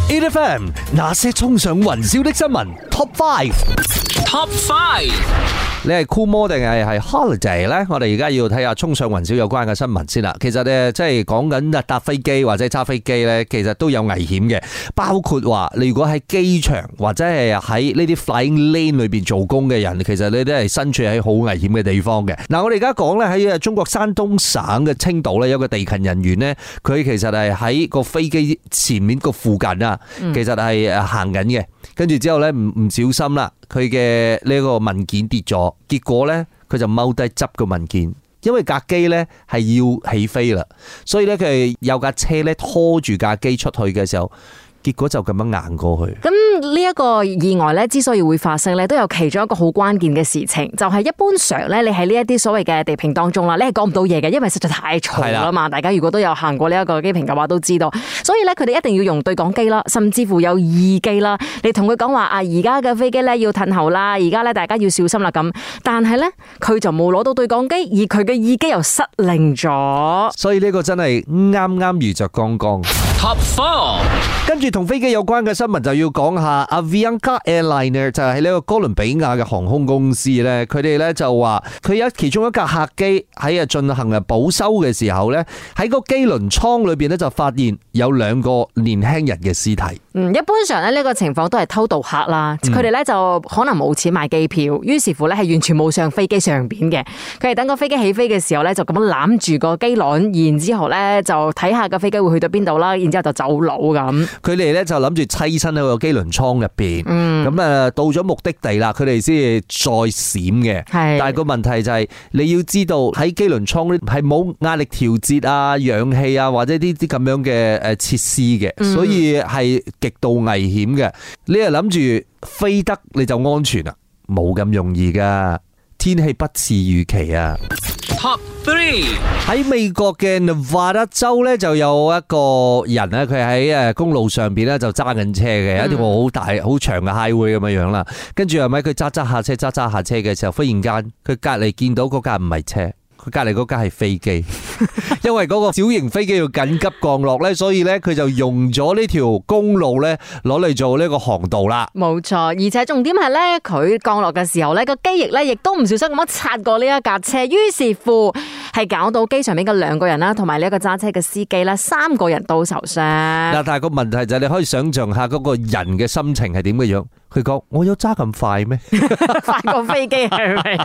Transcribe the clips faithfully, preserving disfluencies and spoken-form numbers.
A F M 那些衝上雲霄的新聞 Top Five。Top Five， 你係 Cool Mo 定係係 Holiday 咧？我哋而家要睇下衝上雲霄有關嘅新聞先啦。其實咧，即係講緊搭飛機或者揸飛機咧，其實都有危險嘅。包括話你如果喺機場或者係喺呢啲 flying lane 裏邊做工嘅人，其實你都係身處喺好危險嘅地方嘅。嗱，我哋而家講咧喺中國山東省嘅青島咧，有個地勤人員咧，佢其實係喺個飛機前面個附近啊，其實係誒行緊嘅。跟住之後咧，唔唔小心啦，佢嘅呢個文件跌咗，結果咧佢就踎低執個文件，因為架機咧係要起飛啦，所以咧佢係有架車咧拖住架機出去嘅時候，結果就咁樣硬過去。 咁呢一個意外咧，之所以會發生咧，都有其中一個好關鍵嘅事情，就係一般上咧，你喺呢一啲所謂嘅地坪當中啦，你係講唔到嘢嘅，因為實在太嘈啦嘛。大家如果都有行過呢一個機坪嘅話，都知道。所以咧，佢哋一定要用對講機啦，甚至乎有耳機啦，你同佢講話啊，而家嘅飛機咧要褪後啦，而家咧大家要小心啦咁。但係咧，佢就冇攞到對講機，而佢嘅耳機又失靈咗。 所以呢個真係啱啱遇着剛剛。Top Four， 跟住同飛機有關嘅新聞就要講下 Avianca Airliner， 就係呢個哥倫比亞嘅航空公司咧，佢哋咧就話佢有其中一架客機喺啊進行啊保修嘅時候咧，喺個機輪艙裏邊咧就發現有兩個年輕人嘅屍體。 嗯，一般上咧呢個情況都係偷渡客啦，佢哋咧就可能冇錢買機票，於是乎咧係完全冇上飛機上邊嘅。佢哋等個飛機起飛嘅時候咧，就咁樣攬住個機輪，然之後咧就睇下個飛機會去到邊度啦，然之後就走佬咁。 佢哋咧就諗住棲身喺個機輪艙入邊，咁啊到咗目的地啦，佢哋先至再閃嘅。係，但係個問題就係你要知道喺機輪艙咧係冇壓力調節啊、氧氣啊或者呢啲咁樣嘅誒設施嘅，所以係極度危險嘅。你係諗住飛得你就安全啊？冇咁容易噶，天氣不似預期啊。Top three， 喺美國嘅 Nevada 州咧就有一個人咧，佢喺誒公路上邊咧就揸緊車嘅，一條好大好長嘅 highway 咁樣樣啦。跟住係咪佢揸揸下車揸揸下車嘅時候，忽然間佢隔籬見到嗰架唔係車，佢隔籬嗰架係飛機，因為嗰個小型飛機要緊急降落咧，所以咧佢就用咗呢條公路咧攞嚟做呢個航道啦。 冇錯，而且重點係咧，佢降落嘅時候咧個機翼咧亦都唔小心咁樣擦過呢一架車，於是乎係搞到機上面嘅兩個人啦，同埋呢一個揸車嘅司機啦，三個人都受傷。嗱， 但係個問題就係你可以想象下嗰個人嘅心情係點嘅樣。佢講：我有揸咁快咩？ 快過飛機係咪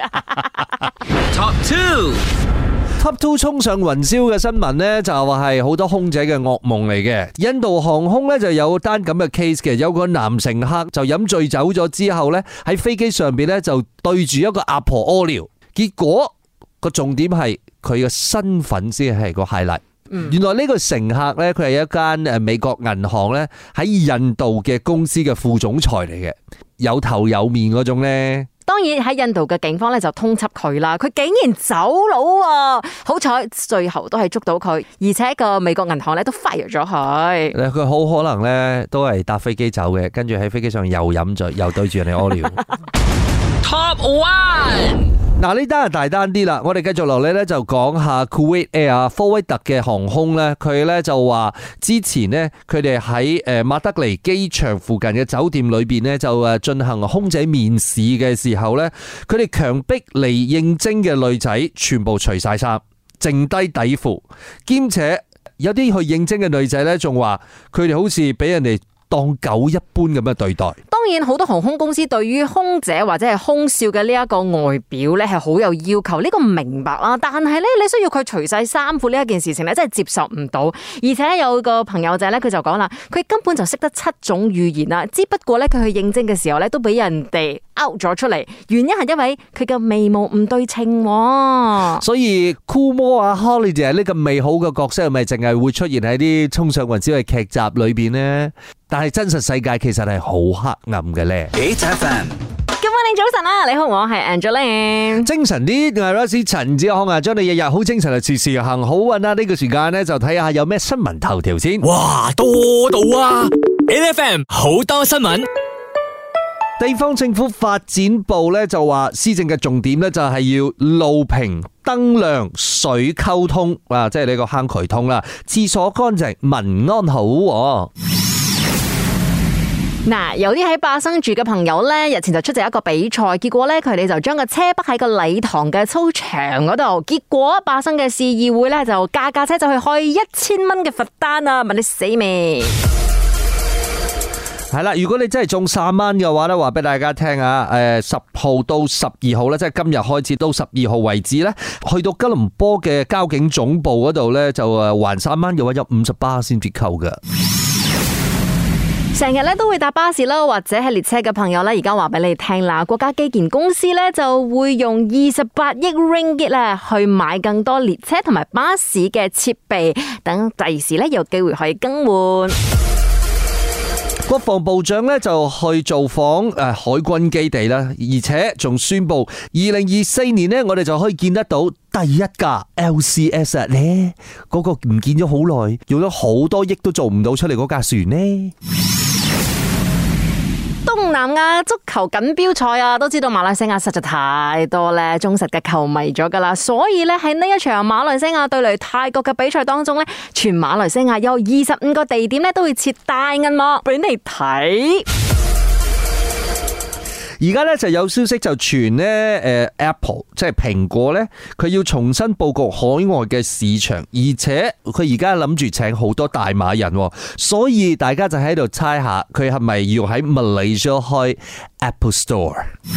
？Top two。Top two 衝上雲霄嘅新聞呢，就話係好多空姐嘅噩夢嚟嘅。印度航空呢就有單咁嘅 case 嘅，有個男乘客就飲醉酒咗之後呢，喺飛機上邊呢就對住一個阿婆屙尿，結果個重點係佢嘅身份先係個 highlight。原來呢個乘客呢，佢係一間誒美國銀行呢喺印度嘅公司嘅副總裁嚟嘅，有頭有面嗰種呢。 當然喺印度嘅警方咧就通緝佢啦，佢竟然走佬啊！好彩最後都係捉到佢，而且個美國銀行咧都 fire 咗佢。 佢好可能咧都係搭飛機走嘅，跟住喺飛機上又飲醉，又對住人哋屙尿。Top one， 嗱呢單係大單啲啦，我哋繼續落嚟咧就講下 Kuwait Air 科威特嘅航空咧，佢咧就話之前呢，佢哋喺誒馬德里機場附近嘅酒店裏邊呢，就誒進行空姐面試嘅時候咧，佢哋強迫嚟應徵嘅女仔全部除晒衫，剩低底褲，兼且有啲去應徵嘅女仔咧仲話佢哋好似俾人哋當狗一般咁樣對待。 當然好多航空公司對於空姐或者係空少嘅呢一個外表咧係好有要求，呢個明白啦。但係咧你需要佢除晒衫褲呢一件事情咧真係接受唔到。而且有個朋友仔咧佢就講啦，佢根本就識得七種語言啦，只不過咧佢去應徵嘅時候咧都俾人哋 out 咗出嚟，原因係因為佢嘅眉毛唔對稱。 所以 Cool Mo 啊 Holiday 呢個美好嘅角色係咪淨係會出現喺啲衝上雲霄嘅劇集裏邊呢？但係真實世界其實係好黑暗嘅咧。H F M， 今晚你早晨啊，你好，我係 Angeline。 精神啲，我係 Rosie 陳志康啊，將你日日好精神啊，時時行好運啊！呢個時間咧就睇下有咩新聞頭條先。 哇，多到啊 ！N F M 好多新聞。 地方政府發展部咧就話，施政嘅重點咧就係要路平、燈亮、水溝通啊，即係呢個坑渠通啦，廁所乾淨、民安好。 嗱，有啲喺巴生住嘅朋友咧，日前就出席一個比賽，結果咧佢哋就將個車泊喺個禮堂嘅操場嗰度，結果巴生嘅市議會咧就架架車就去開一千蚊嘅罰單啊！問你死未？ 係啦，如果你真係中三蚊嘅話咧，話俾大家聽啊，誒，十號到十二號咧，即係今日開始到十二號為止咧，去到吉隆坡嘅交警總部嗰度咧，就誒還三蚊嘅話有五十巴仙折扣嘅。 成日咧都會搭巴士啦，或者係列車嘅朋友咧，而家話俾你聽啦，國家基建公司咧就會用二十八億 ringgit 咧去買更多列車同埋巴士嘅設備，等第時咧有機會可以更換。 國防部長咧就去造訪誒海軍基地啦，而且仲宣布二零二四年呢，我哋就可以見得到第一架 L C S 啊咧，嗰個唔見咗好耐，用咗好多億都做唔到出嚟嗰架船呢。 東南亞足球錦標賽啊，都知道馬來西亞實在太多咧忠實嘅球迷咗噶啦，所以咧喺呢一場馬來西亞對嚟泰國嘅比賽當中咧，全馬來西亞有二十五個地點咧都會設大銀幕俾你睇。 而家咧就有消息就傳咧，誒 Apple 即係蘋果咧，佢要重新佈局海外嘅市場，而且佢而家諗住請好多大馬人，所以大家就喺度猜下佢係咪要喺 Malaysia 開 Apple Store。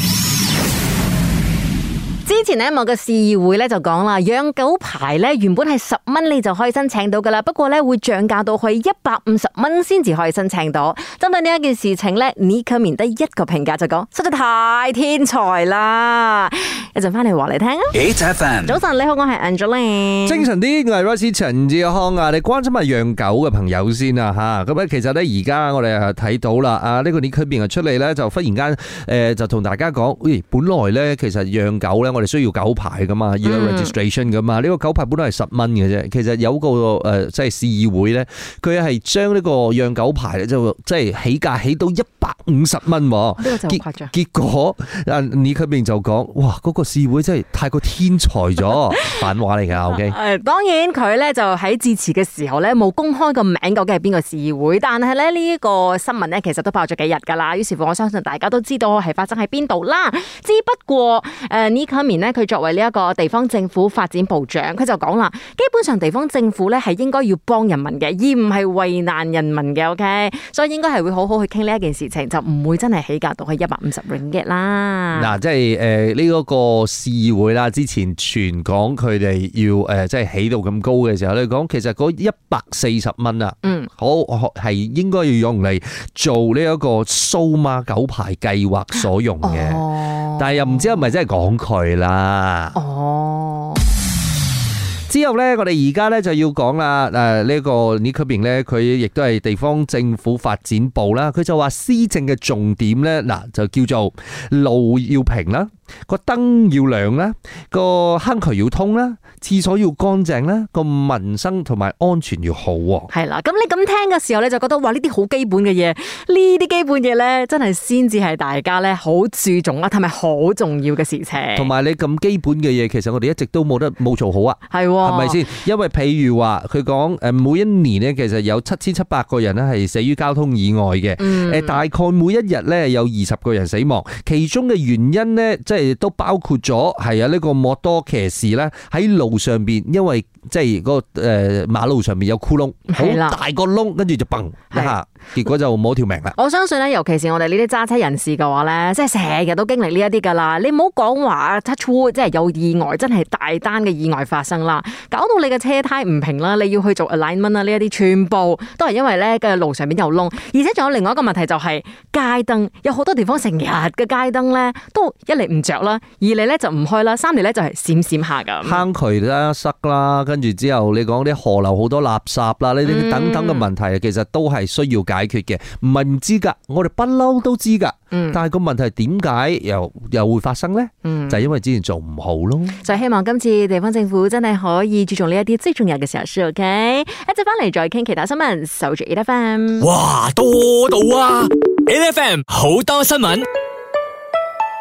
之前呢，某個市議會咧就講啦，養狗牌咧原本係十蚊你就可以申請到噶啦，不過咧會漲價到去一百五十蚊先至可以申請到。針對呢一件事情咧，尼克面得一個評價就講，實在太天才啦！一陣翻嚟話你聽啊。 H F M 早晨你好，我係 Angeline。 精神啲，我係 Royce 陳志康啊！你關心下養狗嘅朋友先啊吓。咁咧其實咧而家我哋係睇到啦，啊呢個尼克面出嚟咧就忽然間誒就同大家講，喂，本來咧其實養狗咧我哋需要狗牌噶嘛，要有 registration 噶嘛。呢、嗯、個狗牌本來係十蚊嘅啫，其實有個誒即係市議會咧，佢係將呢個養狗牌咧就即係起價起到一百五十蚊。呢個就誇張。結果啊尼克面就講，哇嗰、那個市議會真係太過天才咗，反話嚟噶。OK， 誒當然佢咧就喺致辭嘅時候咧冇公開個名究竟係邊個市議會，但係咧呢一個新聞咧其實都爆咗幾日噶啦。於是乎我相信大家都知道係發生喺邊度啦。只不過誒尼克面咧佢作為呢一個地方政府發展部長，佢就講啦，基本上地方政府咧係應該要幫人民嘅，而唔係為難人民嘅。OK，所以應該係會好好去傾呢一件事情，就唔會真係起價到去一百五十 ringgit 啦。 嗱，即係誒呢一個市議會啦，之前傳講佢哋要誒即係起到咁高嘅時候咧，講其實嗰一百四十蚊啊，嗯，好係應該要用嚟做呢一個數碼狗牌計劃所用嘅。哦，但係又唔知係咪真係講佢啦。哦。之後咧，我哋而家咧就要講啦。誒，呢個尼克面咧，佢亦都係地方政府發展部啦。佢就話施政嘅重點咧，嗱就叫做路要平啦，個燈要亮啦，個坑渠要通啦，廁所要乾淨啦，個民生同埋安全要好。 係啦，咁你咁聽嘅時候，你就覺得哇，呢啲好基本嘅嘢，呢啲基本嘢咧，真係先至係大家咧好注重啦，同埋好重要嘅事情。同埋你咁基本嘅嘢，其實我哋一直都冇得冇做好啊。係。係咪先？因為譬如話佢講誒，每一年咧，其實有七千七百個人咧係死於交通意外嘅。誒、嗯，大概每一日咧有二十個人死亡，其中嘅原因咧，即係都包括咗係啊呢個摩多騎士咧喺路上邊，因為即係嗰個誒馬路上面有窟窿，好大個窿，跟住就嘣一下，結果就冇條命啦。 我相信咧，尤其是我哋呢啲揸車人士嘅話咧，即係成日都經歷呢一啲噶啦。你唔好講話 touch wood，即係有意外，真係大單嘅意外發生啦。搞到你嘅車胎唔平啦，你要去做 alignment 啦，呢一啲全部都係因為咧嘅路上面有窿，而且仲有另外一個問題就係街燈，有好多地方成日嘅街燈咧都一嚟唔着啦，二嚟咧就唔開啦，三嚟咧就係閃閃下咁。 坑渠啦塞啦，跟住之後你講啲河流好多垃圾啦，呢啲等等嘅問題，其實都係需要解決嘅，唔係唔知噶，我哋不嬲都知噶。嗯、但係個問題點解又又會發生呢？嗯、就係因為之前做唔好咯。 就希望今次地方政府真係可以注重呢一啲最重要嘅時候先 OK。一陣翻嚟再傾其他新聞，守住 A F M。 哇，多到啊 ！A F M 好多新聞。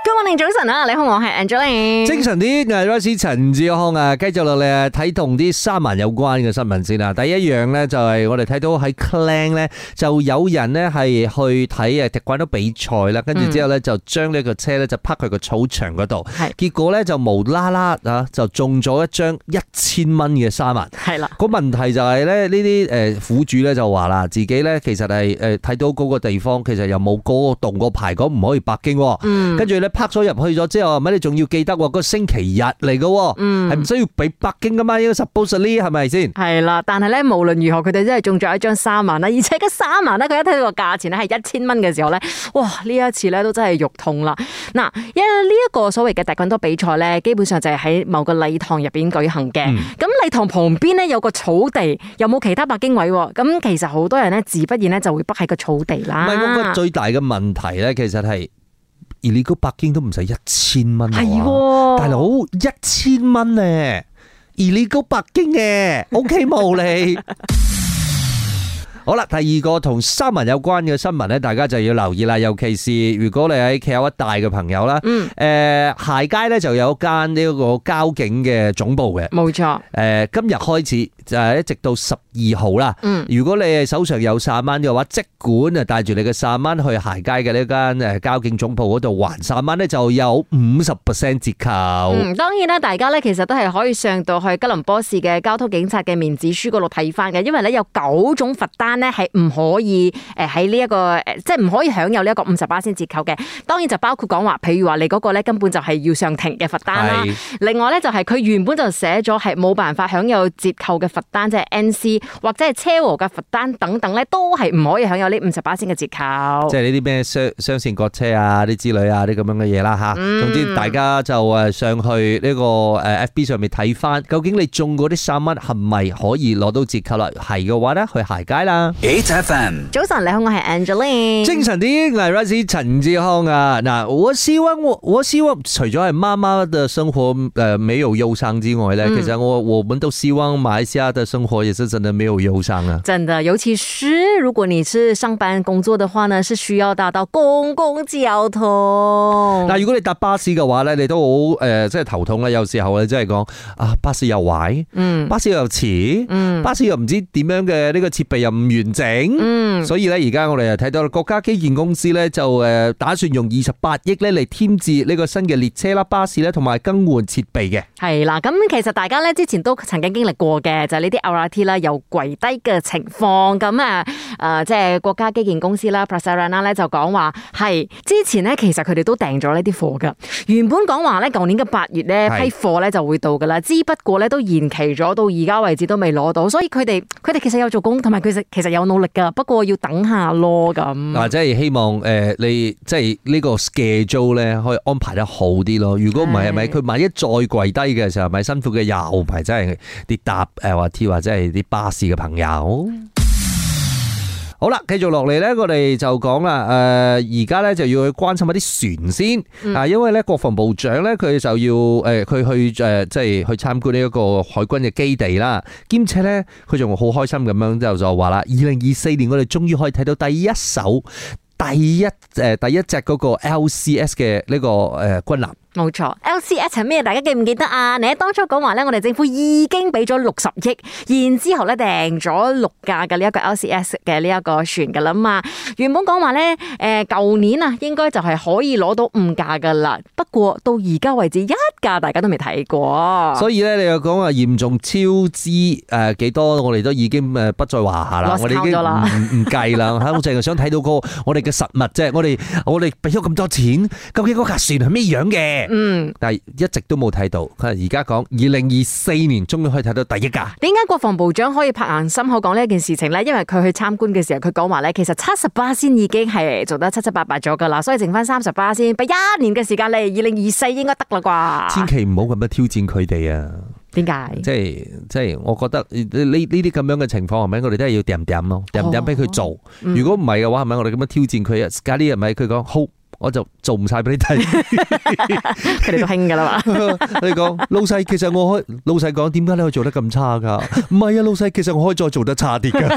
Good morning，早晨啊，你好，我係 Angeline。 精神啲，係 Royce 陳志康啊，繼續落嚟啊，睇同啲三萬有關嘅新聞先啦。第一樣咧就係我哋睇到喺 Klang 咧，就有人咧係去睇誒踢滾刀比賽啦，跟住之後咧就將呢個車咧就泊佢個草場嗰度，係結果咧就無啦啦啊就中咗一張一千蚊嘅三萬。係啦，個問題就係咧呢啲誒苦主咧就話啦，自己咧其實係誒睇到嗰個地方其實又冇嗰個動個牌講唔可以泊經，嗯，跟住咧泊咗入去咗之後，咪你仲要記得個星期日嚟嘅，嗯，係唔需要俾泊經噶嘛？應該 supposedly 係咪先？係啦，但係咧無論如何，佢哋真係中咗一張三萬啦，而且嗰三萬咧，佢一睇到個價錢咧係一千蚊嘅時候咧，哇！呢一次咧都真係肉痛啦。嗱，因為呢一個所謂嘅踢滾刀比賽咧，基本上就係喺某個禮堂入邊舉行嘅。咁禮堂旁邊咧有個草地，又冇其他泊經位，咁其實好多人咧自不然咧就會泊喺個草地啦。唔係，我覺得最大嘅問題咧，其實係。而你個泊經都唔使一千蚊，係大佬一千蚊咧，而你個泊經嘅 ，OK 冇你。好啦，第二個同三文有關嘅新聞咧，大家就要留意啦。尤其是如果你喺 K L 一帶嘅朋友啦，嗯，誒，鞋街咧就有間呢個交警嘅總部嘅，冇錯。誒，今日開始就係一直到十二號啦。嗯，如果你係手上有三蚊嘅話，即管啊帶住你嘅三蚊去鞋街嘅呢間誒交警總部嗰度還三蚊咧，就有五十 percent 折扣。嗯，當然啦，大家咧其實都係可以上到去吉隆坡市嘅交通警察嘅面子書嗰度睇翻嘅，因為咧有九種罰單。咧係唔可以誒喺呢一個誒，即係唔可以享有呢一個五十巴仙折扣嘅。當然就包括講話，譬如話你嗰個咧根本就係要上庭嘅罰單啦。另外咧就係佢原本就寫咗係冇辦法享有折扣嘅罰單，即係 N C 或者係車禍嘅罰單等等咧，都係唔可以享有呢五十巴仙嘅折扣。即係呢啲咩雙雙線割車啊，啲之類啊，啲咁樣嘅嘢啦吓。總之大家就誒上去呢個誒 F B 上面睇翻，究竟你中嗰啲三蚊係咪可以攞到折扣啦？係嘅話咧，去鞋街啦。H F M 早晨，你好，我係 Angeline。精神啲，我係 Royce 陳志康啊。嗱，我希望我我希望除咗係媽媽嘅生活誒沒有憂傷之外咧，嗯、其實我我們都希望馬來西亞嘅生活也是真的沒有憂傷啊。真的，尤其是如果你是上班工作的話呢，是需要搭到公共交通。嗱，如果你搭巴士嘅話咧，你都好誒，即係頭痛啦。有時候咧，即係講啊，巴士又壞，嗯，巴士又遲，嗯，巴士又唔知點樣嘅呢個設備又唔完整，嗯，所以咧而家我哋又睇到國家基建公司咧就誒打算用二十八億咧嚟添置呢個新嘅列車啦、巴士咧同埋更換設備嘅。係啦，咁其實大家咧之前都曾經經歷過嘅，就係呢啲 L R T 啦又跪低嘅情況。咁啊誒，即係國家基建公司啦 Prasarana 咧就講話係之前咧其實佢哋都訂咗呢啲貨噶，原本講話咧舊年嘅八月咧批貨咧就會到噶啦，之不過咧都延期咗到而家為止都未攞到，所以佢哋佢哋其實有做工，同埋佢實其實有努力噶，不過要等下咯咁。嗱，即係希望誒，你即係呢個 schedule 咧可以安排得好啲咯。如果唔係，係咪佢萬一再跪低嘅時候，咪辛苦嘅又唔係真係啲搭誒或 T 或者係啲巴士嘅朋友。好啦，繼續落嚟咧，我哋就講啦。誒，而家咧就要去關心一啲船先啊，嗯、因為咧國防部長咧佢就要誒，佢去誒，即係去參觀呢一個海軍嘅基地啦，兼且咧佢仲好開心咁樣就就話啦，二零二四年我哋終於可以睇到第一艘第一誒第一隻嗰個 L C S 嘅呢個誒軍艦。冇錯 ，L C S 係咩？大家記唔記得啊？你喺當初講話咧，我哋政府已經俾咗六十億，然之後咧訂咗六架嘅呢一個 L C S 嘅呢一個船噶啦嘛。原本講話咧，誒，舊年啊，應該就係可以攞到五架噶啦。不過到而家為止，一架大家都未睇過。所以咧，你又講話嚴重超支誒幾多？我哋都已經誒不在話下啦。我哋已經唔唔計啦。吓，我淨係想睇到個我哋嘅實物啫。我哋我哋俾咗咁多錢，究竟嗰架船係咩樣嘅？嗯，但係一直都冇睇到。佢而家講二零二四年終於可以睇到第一架。點解國防部長可以拍硬心口講呢一件事情呢？因為佢去參觀嘅時候，佢講話咧，其實七十巴仙已經係做得七七八八咗噶啦，所以剩翻三十巴仙，俾一年嘅時間你，二零二四應該得啦啩。千祈唔好咁樣挑戰佢哋啊！點解？即係即係，我覺得呢呢啲咁樣嘅情況係咪？我哋都係要掂掂咯，掂掂俾佢做。哦嗯、如果唔係嘅話，係咪我哋咁樣挑戰佢啊？加啲係咪？佢講好。我就做唔晒俾你睇，佢哋都興噶啦嘛。你講老細，其實我可以老細講，點解你可以做得咁差噶？唔係啊，老細，其實我可以再做得差啲噶。一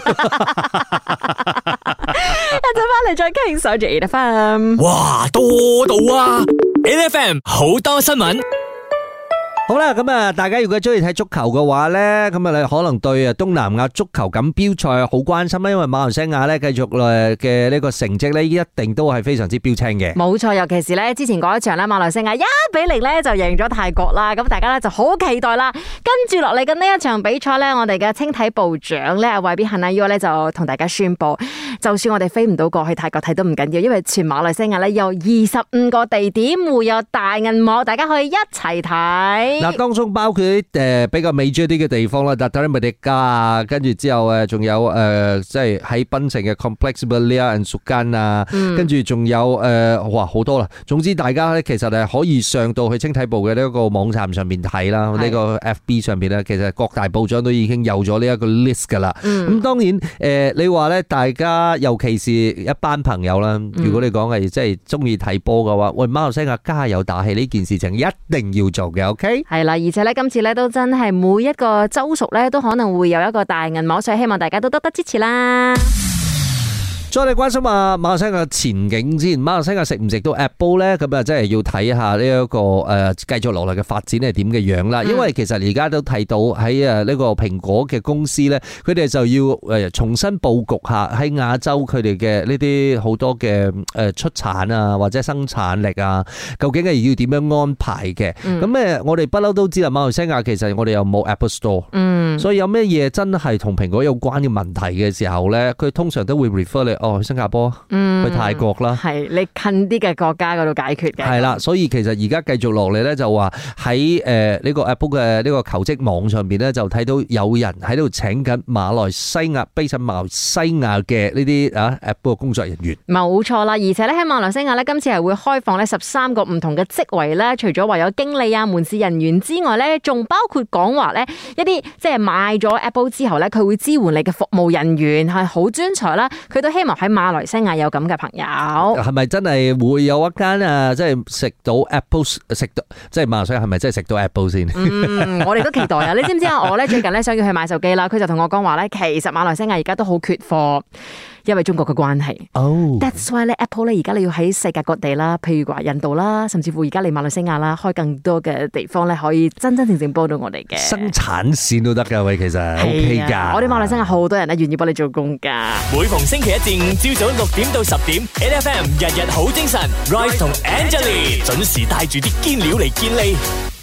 陣翻嚟再傾，守住 A F M。哇，多到啊 ，L F M 好多新聞。 好啦，咁啊，大家如果中意睇足球嘅話咧，咁啊，你可能對啊東南亞足球錦標賽好關心啦，因為馬來西亞咧繼續誒嘅呢個成績咧，一定都係非常之標青嘅。 冇錯，尤其是咧之前嗰一場咧，馬來西亞一比零咧就贏咗泰國啦，咁大家咧就好期待啦。跟住落嚟嘅呢一場比賽咧，我哋嘅青體部長咧韋比肯亞 U 咧就同大家宣布，就算我哋飛唔到過去泰國睇都唔緊要，因為全馬來西亞咧有二十五個地點會有大銀幕，大家可以一齊睇。 嗱，當中包括啲誒比較 major 啲嘅地方啦，達達米迪加啊，跟住之後誒仲有誒即係喺檳城嘅 Complex Belia and Sukan 啊，跟住仲有誒哇好多啦。總之大家咧其實係可以上到去青體部嘅呢一個網站上面睇啦，呢個 F B 上邊咧，其實各大部長都已經有咗呢一個 list 噶啦。咁當然誒你話咧，大家尤其是一班朋友啦，如果你講係即係中意睇波嘅話，喂，馬來西亞加油打氣呢件事情一定要做嘅 ，OK？ 係啦，而且咧今次咧都真係每一個州屬咧都可能會有一個大銀幕，所以希望大家都多多支持啦。 再嚟關心下馬來西亞嘅前景先，馬來西亞食唔食到 Apple 咧？咁啊，真係要睇下呢一個誒繼續落嚟嘅發展係點嘅樣啦。因為其實而家都睇到喺誒呢個蘋果嘅公司咧，佢哋就要誒重新佈局下喺亞洲佢哋嘅呢啲好多嘅誒出產啊或者生產力啊，究竟係要點樣安排嘅？咁誒，我哋不嬲都知啦，馬來西亞其實我哋又冇 Apple Store，嗯，所以有咩嘢真係同蘋果有關嘅問題嘅時候咧，佢通常都會 refer 你。哦，去新加坡，嗯、去泰國啦， 係你近啲嘅國家嗰度解決嘅。係啦， 所以其實而家繼續落嚟咧，就話喺誒呢個 Apple 嘅呢個求職網上邊咧，就睇到有人喺度請緊馬來西亞、based喺馬來西亞嘅呢啲啊 Apple 嘅工作人員。冇錯啦，而且咧喺馬來西亞咧，今次係會開放咧十三個唔同嘅職位咧，除咗話有經理啊、門市人員之外咧，仲包括講話咧一啲即係買咗 Apple 之後咧，佢會支援你嘅服務人員係好專才啦，佢都希望喺馬來西亞有咁嘅朋友， 係咪真係會有一間啊？即係食到 Apple 食到，即係馬來西亞係咪真係食到 Apple 先？ 嗯，我哋都期待啊！你知唔知啊？我咧最近咧想要去買手機啦，佢就同我講話咧，其實馬來西亞而家都好缺貨，因為中國嘅關係。哦 ，That's why 咧 Apple 咧而家你要喺世界各地啦，譬如話印度啦，甚至乎而家嚟馬來西亞啦，開更多嘅地方咧，可以真真正正幫到我哋嘅生產線都得噶喂，其實 OK 噶。 我哋馬來西亞好多人咧願意幫你做工噶。 每逢星期一至五朝早六點到十點 ，N F M 日日好精神 ，Rise 同 Angelie 準時帶住啲堅料嚟健利。